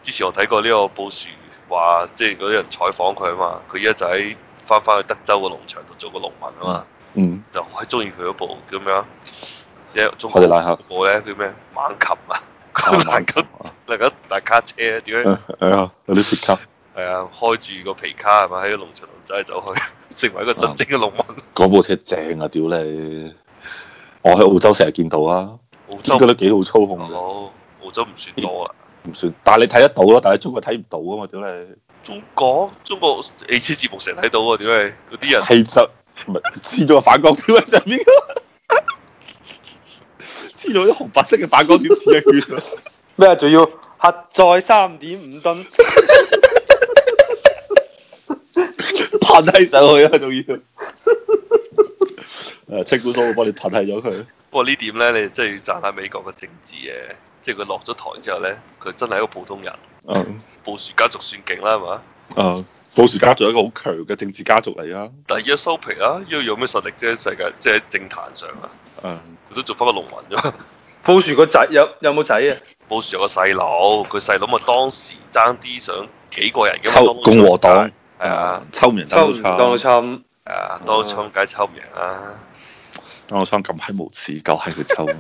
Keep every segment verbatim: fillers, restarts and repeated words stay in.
之前我睇過呢個布殊話，即係嗰啲人採訪佢啊嘛，佢依家就喺翻返去德州個農場度做個農民啊嘛， 嗯， 就好中意佢嗰部叫咩啊？一中凱迪拉克部咧叫咩？猛禽啊，佢能夠能夠大卡車點樣？ 係啊，有啲鐵卡。 係啊，開住個皮卡係咪喺個農場度走嚟走去，成為一個真正嘅農民。 嗰部車正啊！屌你，我喺澳洲成日見到啊， 澳洲覺得幾好操控嘅。 哦，澳洲唔算多啊。 唔算，但係你睇得到咯，但係中國睇唔到啊嘛！屌你， 中國中國汽車節目成日睇到啊！點解嗰啲人氣質唔係黐咗個反光條喺上面，黐咗啲紅白色嘅反光條黐一圈。 咩啊？仲要核載三點五噸， 噴喺上去啊！仲要誒，清管所會幫你噴喺咗佢。 不過呢點咧，你真係要讚下美國嘅政治嘅，即係佢落咗台之後咧，佢真係一個普通人。 嗯， 布殊家族算勁啦，係嘛？ 誒，布殊家族係一個好強嘅政治家族嚟啊。 但係而家收皮啦，因為有咩實力啫？世界即係喺政壇上啊， 誒， 佢都做翻個農民啫。 布殊個仔有有冇仔啊？ 布殊有個細佬，佢細佬咪當時爭啲想幾個人嘅抽共和黨係啊， 抽唔贏抽唔 Donald 到 Trump， 侵， 係啊，當槍梗係抽唔贏啦。 Donald Trump咁閪無恥，夠閪佢抽。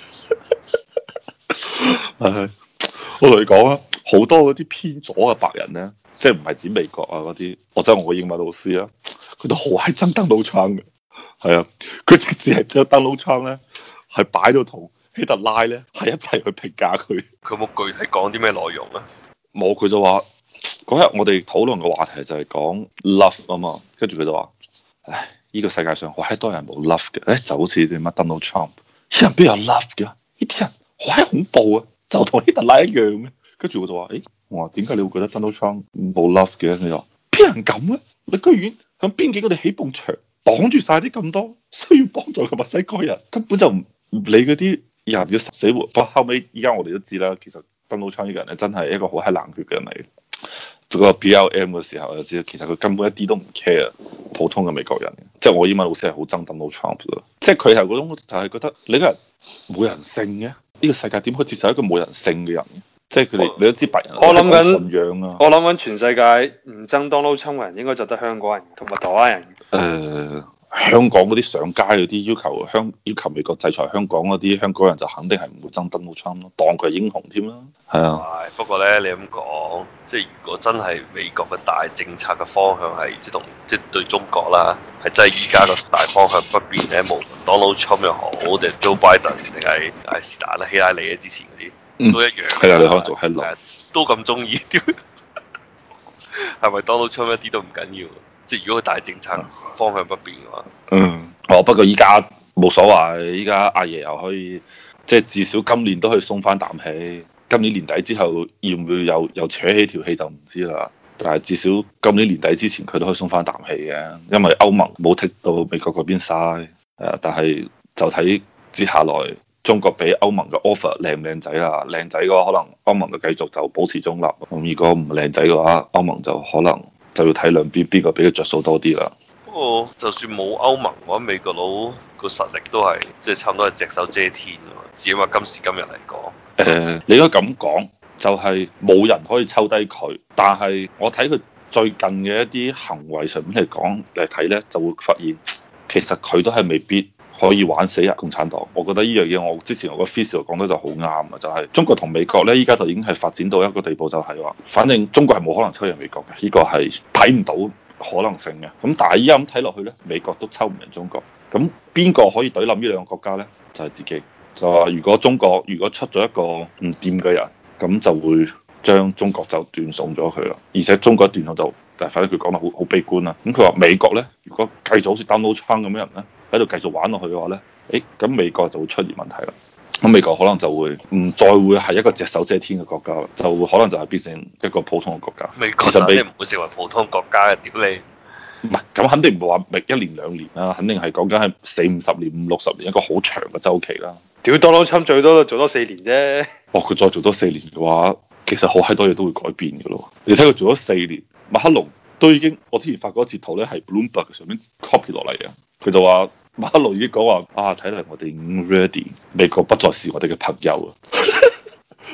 係，我同你講啊，好多嗰啲偏左嘅白人咧，即係唔係指美國啊嗰啲，或者我個英文老師啊，佢都好閪憎 Donald Trump嘅。係啊，佢直接係將 Donald Trump 咧係擺到同希特拉咧係一齊去評價佢。 佢有冇具體講啲咩內容啊？ 冇，佢就話嗰日我哋討論嘅話題就係講 love 啊嘛，跟住佢就話，唉，呢個世界上好閪多人冇 love 嘅，誒就好似啲乜 Donald Trump，啲人邊有 love 嘅？呢啲人好閪恐怖啊，就同希特拉一樣嘅。跟住我就話，誒，我話點解你會覺得 Donald Trump 冇 love 嘅？佢就話邊人咁啊？你居然響邊境嗰度起埲牆，擋住晒啲咁多需要幫助嘅墨西哥人，根本就唔唔理嗰啲人要死活。不過後尾依家我哋都知啦，其實 Donald Trump 呢個人咧真係一個好閪冷血嘅人嚟。做個 B L M 嘅時候就知道，其實佢根本一啲都唔 care 普通嘅美國人。即係我英文老師係好憎 Donald Trump 嘅，即係佢係嗰種就係覺得你個人冇人性嘅，呢個世界點可以接受一個冇人性嘅人？即係佢哋你都知白人我諗緊信仰啊。 我諗緊全世界唔憎 Donald Trump 嘅人，應該就得香港人同埋台灣人。 誒、呃。香港嗰啲上街嗰啲要求香要求美國制裁香港嗰啲香港人就肯定係唔會憎 Donald Trump 咯，當佢係英雄添啦。係啊， 係不過咧，你咁講，即係如果真係美國嘅大政策嘅方向係即係同即係對中國啦，係真係依家個大方向不變咧，無論 Donald Trump 又好定 Joe Biden 定係係是但啦，希拉里啊之前嗰啲都一樣。 係啊，你可能做喺度， 都咁中意，係咪 Donald Trump 一啲都唔緊要？即係如果佢大政策方向不變嘅話， 嗯，哦，不過依家冇所謂，依家阿爺又可以，即係至少今年都可以鬆翻啖氣。今年年底之後要唔要又又扯起條氣就唔知啦。但係至少今年年底之前佢都可以鬆翻啖氣嘅，因為歐盟冇剔到美國嗰邊晒。誒，但係就睇接下來中國俾歐盟嘅 offer 靚唔靚仔啦。靚仔嘅話，可能歐盟就繼續就保持中立。咁如果唔靚仔嘅話，歐盟就可能就要睇兩邊邊個俾佢着數多啲啦。 不過就算冇歐盟，我覺得美國佬個實力都係即係差唔多係隻手遮天啊嘛。至少話今時今日嚟講， 誒、呃，你應該咁講，就係、是、冇人可以抽低佢。但係我睇佢最近嘅一啲行為上面嚟講嚟睇咧，就會發現其實佢都係未必可以玩死人共產黨。我覺得呢樣嘢，我之前我個 face 講得就好啱啊，就係、是、中國同美國咧，依家就已經係發展到一個地步，就係話，反正中國係冇可能抽贏美國嘅，呢、這個係睇唔到可能性嘅。咁但係依家咁睇落去咧，美國都抽唔贏中國。咁邊個可以懟冧呢兩個國家咧？就係、是、自己。就話如果中國如果出咗一個唔掂嘅人，咁就會將中國就斷送咗佢啦。而且中國斷送就，但係反正佢講得好好悲觀啦。咁佢話美國咧，如果繼續好似 Donald Trump 咁樣人咧，喺度繼續玩落去嘅話咧，誒咁美國就會出現問題啦。咁美國可能就會唔再會係一個隻手遮天嘅國家啦，就會可能就係變成一個普通嘅國家。 美國就你唔會成為普通國家嘅，屌你！ 唔係，咁肯定唔會話一年兩年啦，肯定係講緊係四五十年、五六十年一個好長嘅周期啦。 屌 Donald Trump 最多都做多四年啫。 哦，佢再做多四年嘅話，其實好閪多嘢都會改變嘅咯。你睇佢做咗四年，馬克龍都已經，我之前發過一截圖咧，係 Bloomberg 上面 copy 落嚟嘅。佢就話馬克龍已經講話啊，睇嚟我哋已經 ready，美國不再是我哋嘅朋友啊。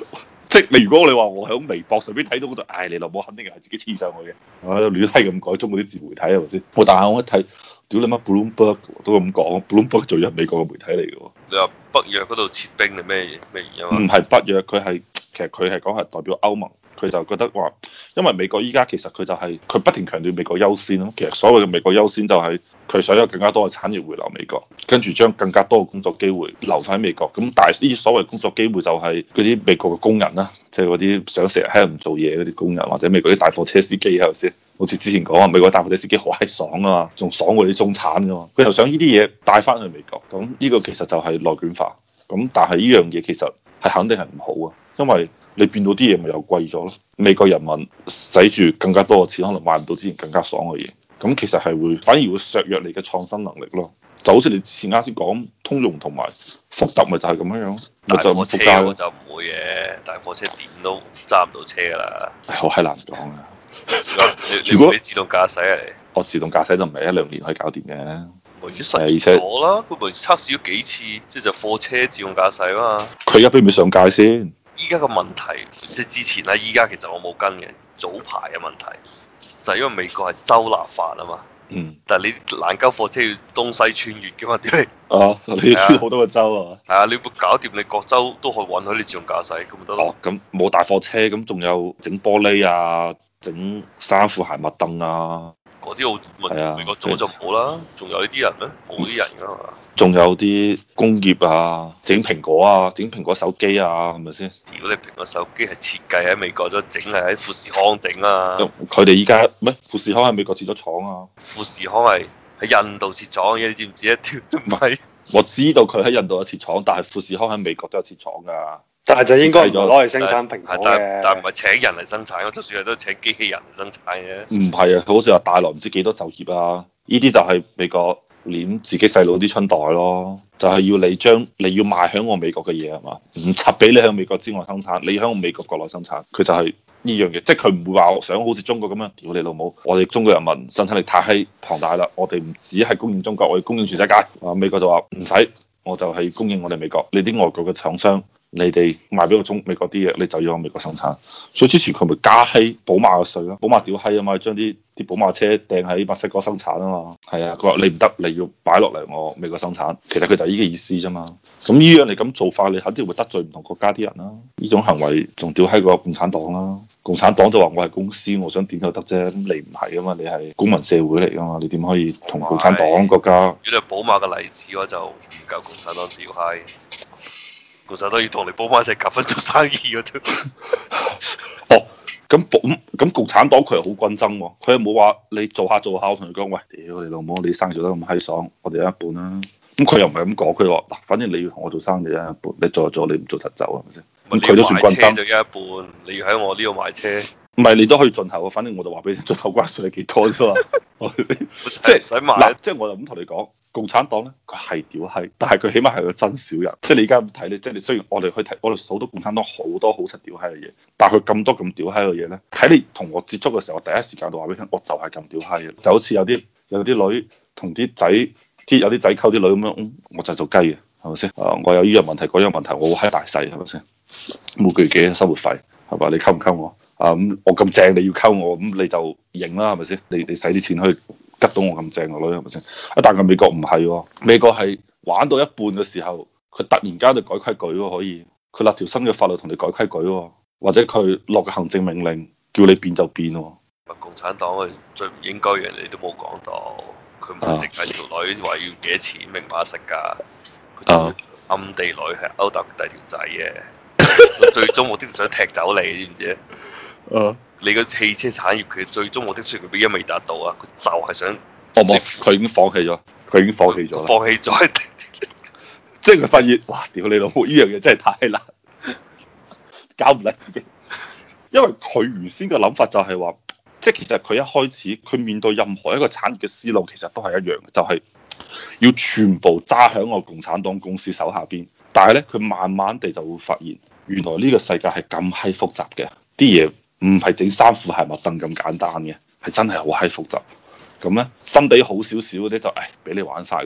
即係你如果你話我喺微博上邊睇到嗰度，唉，你老母肯定係自己黐上去嘅，我喺度亂閪咁改中國啲自媒體係咪先？我但係我一睇，屌你媽 Bloomberg 都咁講 ，Bloomberg 做咗美國嘅媒體嚟嘅喎。 你話北約嗰度撤兵係咩咩原因啊？ 唔係北約，佢係其實佢係講係代表歐盟，佢就覺得話，因為美國依家其實佢就係、是、佢不停強調美國優先咯。其實所謂嘅美國優先就係佢想有更加多嘅產業回流美國，跟住將更加多嘅工作機會留翻喺美國。咁但係呢啲所謂工作機會就係嗰啲美國嘅工人啦，即係嗰啲想成日喺度唔做嘢嗰啲工人，或者美國啲大貨車司機係咪先？好似之前講啊，美國大貨車司機好閪爽啊嘛，仲爽過啲中產噶嘛。佢又想呢啲嘢帶翻去美國，咁呢個其實就係內卷化。咁但係呢樣嘢其實係肯定係唔好啊，因為你變到啲嘢咪又貴咗咯。美國人民使住更加多嘅錢，可能買唔到之前更加爽嘅嘢。咁其實係會反而會削弱你嘅創新能力咯。就好似你之前啱先講通用同埋福特咪就係咁樣樣。 大貨車我就唔會嘅，大貨車點都揸唔到車㗎啦。 好閪難講啊！ 你如果你自動駕駛啊，你我自動駕駛都唔係一兩年可以搞掂嘅。 咪已經實驗咗啦，佢咪測試咗幾次，即係就貨車自動駕駛啊嘛。 佢而家俾唔俾上街先？ 依家個問題即係之前啦，依家其實我冇跟嘅，早排嘅問題就係因為美國係州立法啊嘛。 嗯。 但係你爛鳩貨車要東西穿越嘅嘛？點解？ 哦，你要穿好多個州啊？ 係啊，你會搞掂你各州都可以允許你自動駕駛，咁咪得咯。 哦，咁冇大貨車，咁仲有整玻璃啊，整衫褲鞋襪凳啊。 嗰啲澳美國做就冇啦，仲有呢啲人咩？冇啲人噶嘛。仲有啲工業啊，整蘋果啊，整蘋果手機啊，係咪先？ 如果你蘋果手機係設計喺美國咗，整係喺富士康整啊。 佢哋依家咩？富士康喺美國設咗廠啊。 富士康係喺印度設廠嘅，你知唔知一條都唔係。 我知道佢喺印度有設廠，但係富士康喺美國都有設廠㗎。 但係就應該唔攞嚟生產蘋果嘅， 但係唔係請人嚟生產，就算係都請機器人嚟生產嘅。 唔係啊，佢好似話帶來唔知幾多就業啊！呢啲就係美國攆自己細佬啲春袋咯，就係、是、要你將你要賣響我美國嘅嘢係嘛，唔插俾你響美國之外生產，你響我美國國內生產，佢就係呢樣嘢，即係佢唔會話我想好似中國咁樣，屌你老母！我哋中國人民生產力太閪龐大啦，我哋唔止係供應中國，我哋供應全世界。啊，美國就話唔使，我就係供應我哋美國，你啲外國嘅廠商。你哋賣俾個中美國啲嘢，你就要喺美國生產。所以之前佢咪加閪寶馬嘅稅咯，寶馬屌閪啊嘛，將啲啲寶馬車掟喺墨西哥生產啊嘛。係啊，佢話你唔得，你要擺落嚟我美國生產。其實佢就係呢個意思啫嘛。咁呢樣你咁做法，你肯定會得罪唔同國家啲人啦。呢種行為仲屌閪過共產黨啦。共產黨就話我係公司，我想點就得啫。咁你唔係啊嘛，你係公民社會嚟噶嘛，你點可以同共產黨國家？ 如果係寶馬嘅例子嘅話，就唔夠共產黨屌閪。其實都要同你煲翻一齊夾份做生意嗰啲。 哦，咁咁咁共產黨佢係好均真喎，佢又冇話你做下做下，我同你講，喂，屌你老母，你生意做得咁閪爽，我哋有一半啦。咁佢又唔係咁講，佢話嗱，反正你要同我做生意一半，你做就做，你唔做就走，係咪先？咁佢都算均真。就一半，你要喺我呢度買車。唔係，你都可以進口，反正我就話俾你，進口關稅係幾多啫嘛。即係唔使買。嗱，即係我就咁同你講。共產黨咧，佢係屌閪，但係佢起碼係個真小人。即係你而家咁睇咧，即係你雖然我哋去睇，我哋數到共產黨好多好實屌閪嘅嘢，但係佢咁多咁屌閪嘅嘢咧，喺你同我接觸嘅時候，我第一時間就話俾你聽，我就係咁屌閪嘅。就好似有啲有啲女同啲仔，啲有啲仔溝啲女咁樣，嗯，我就係做雞嘅，係咪先？啊，我有呢樣問題，嗰樣問題，我好閪大細，係咪先？每個月幾生活費，係嘛？你溝唔溝我？啊咁，我咁正，你要溝我，咁你就認啦，係咪先？你你使啲錢去吉到我咁正個女，係咪先？啊，但係美國唔係喎，美國係玩到一半嘅時候，佢突然間就改規矩喎，可以，佢立條新嘅法律同你改規矩喎，或者佢落個行政命令叫你變就變喎。 共產黨佢最唔應該嘅嘢你都冇講到，佢唔係淨係條女話要幾多錢明碼實價，佢仲暗地裏係勾搭第二條仔嘅。最終目的就想踢走你，知唔知？ 誒， 你個汽車產業佢最終目的雖然佢依家未達到啊，佢就係想， 我冇，佢已經放棄咗，佢已經放棄咗， 放棄咗， 即係佢發現，哇！屌你老母，呢樣嘢真係太難，搞唔甩自己。因為佢原先嘅諗法就係話，即係其實佢一開始佢面對任何一個產業嘅思路，其實都係一樣嘅，就係要全部揸喺我共產黨公司手下邊。但係咧，佢慢慢地就會發現，原來呢個世界係咁閪複雜嘅，啲嘢唔係整衫褲鞋襪凳咁簡單嘅，係真係好閪複雜。咁咧，心地好少少嗰啲就誒俾你玩晒佢，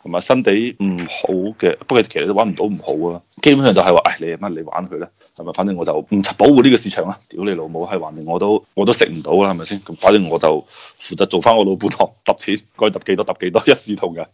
同埋新地唔好嘅，不過其實都揾唔到唔好啊。基本上就係話，唉，你係乜你玩佢咧，係咪？反正我就唔保護呢個市場啦。屌你老母，係橫掂我都我都食唔到啦，係咪先？咁反正我就負責做翻我老本行，揼錢該揼幾多揼幾多，一視同仁。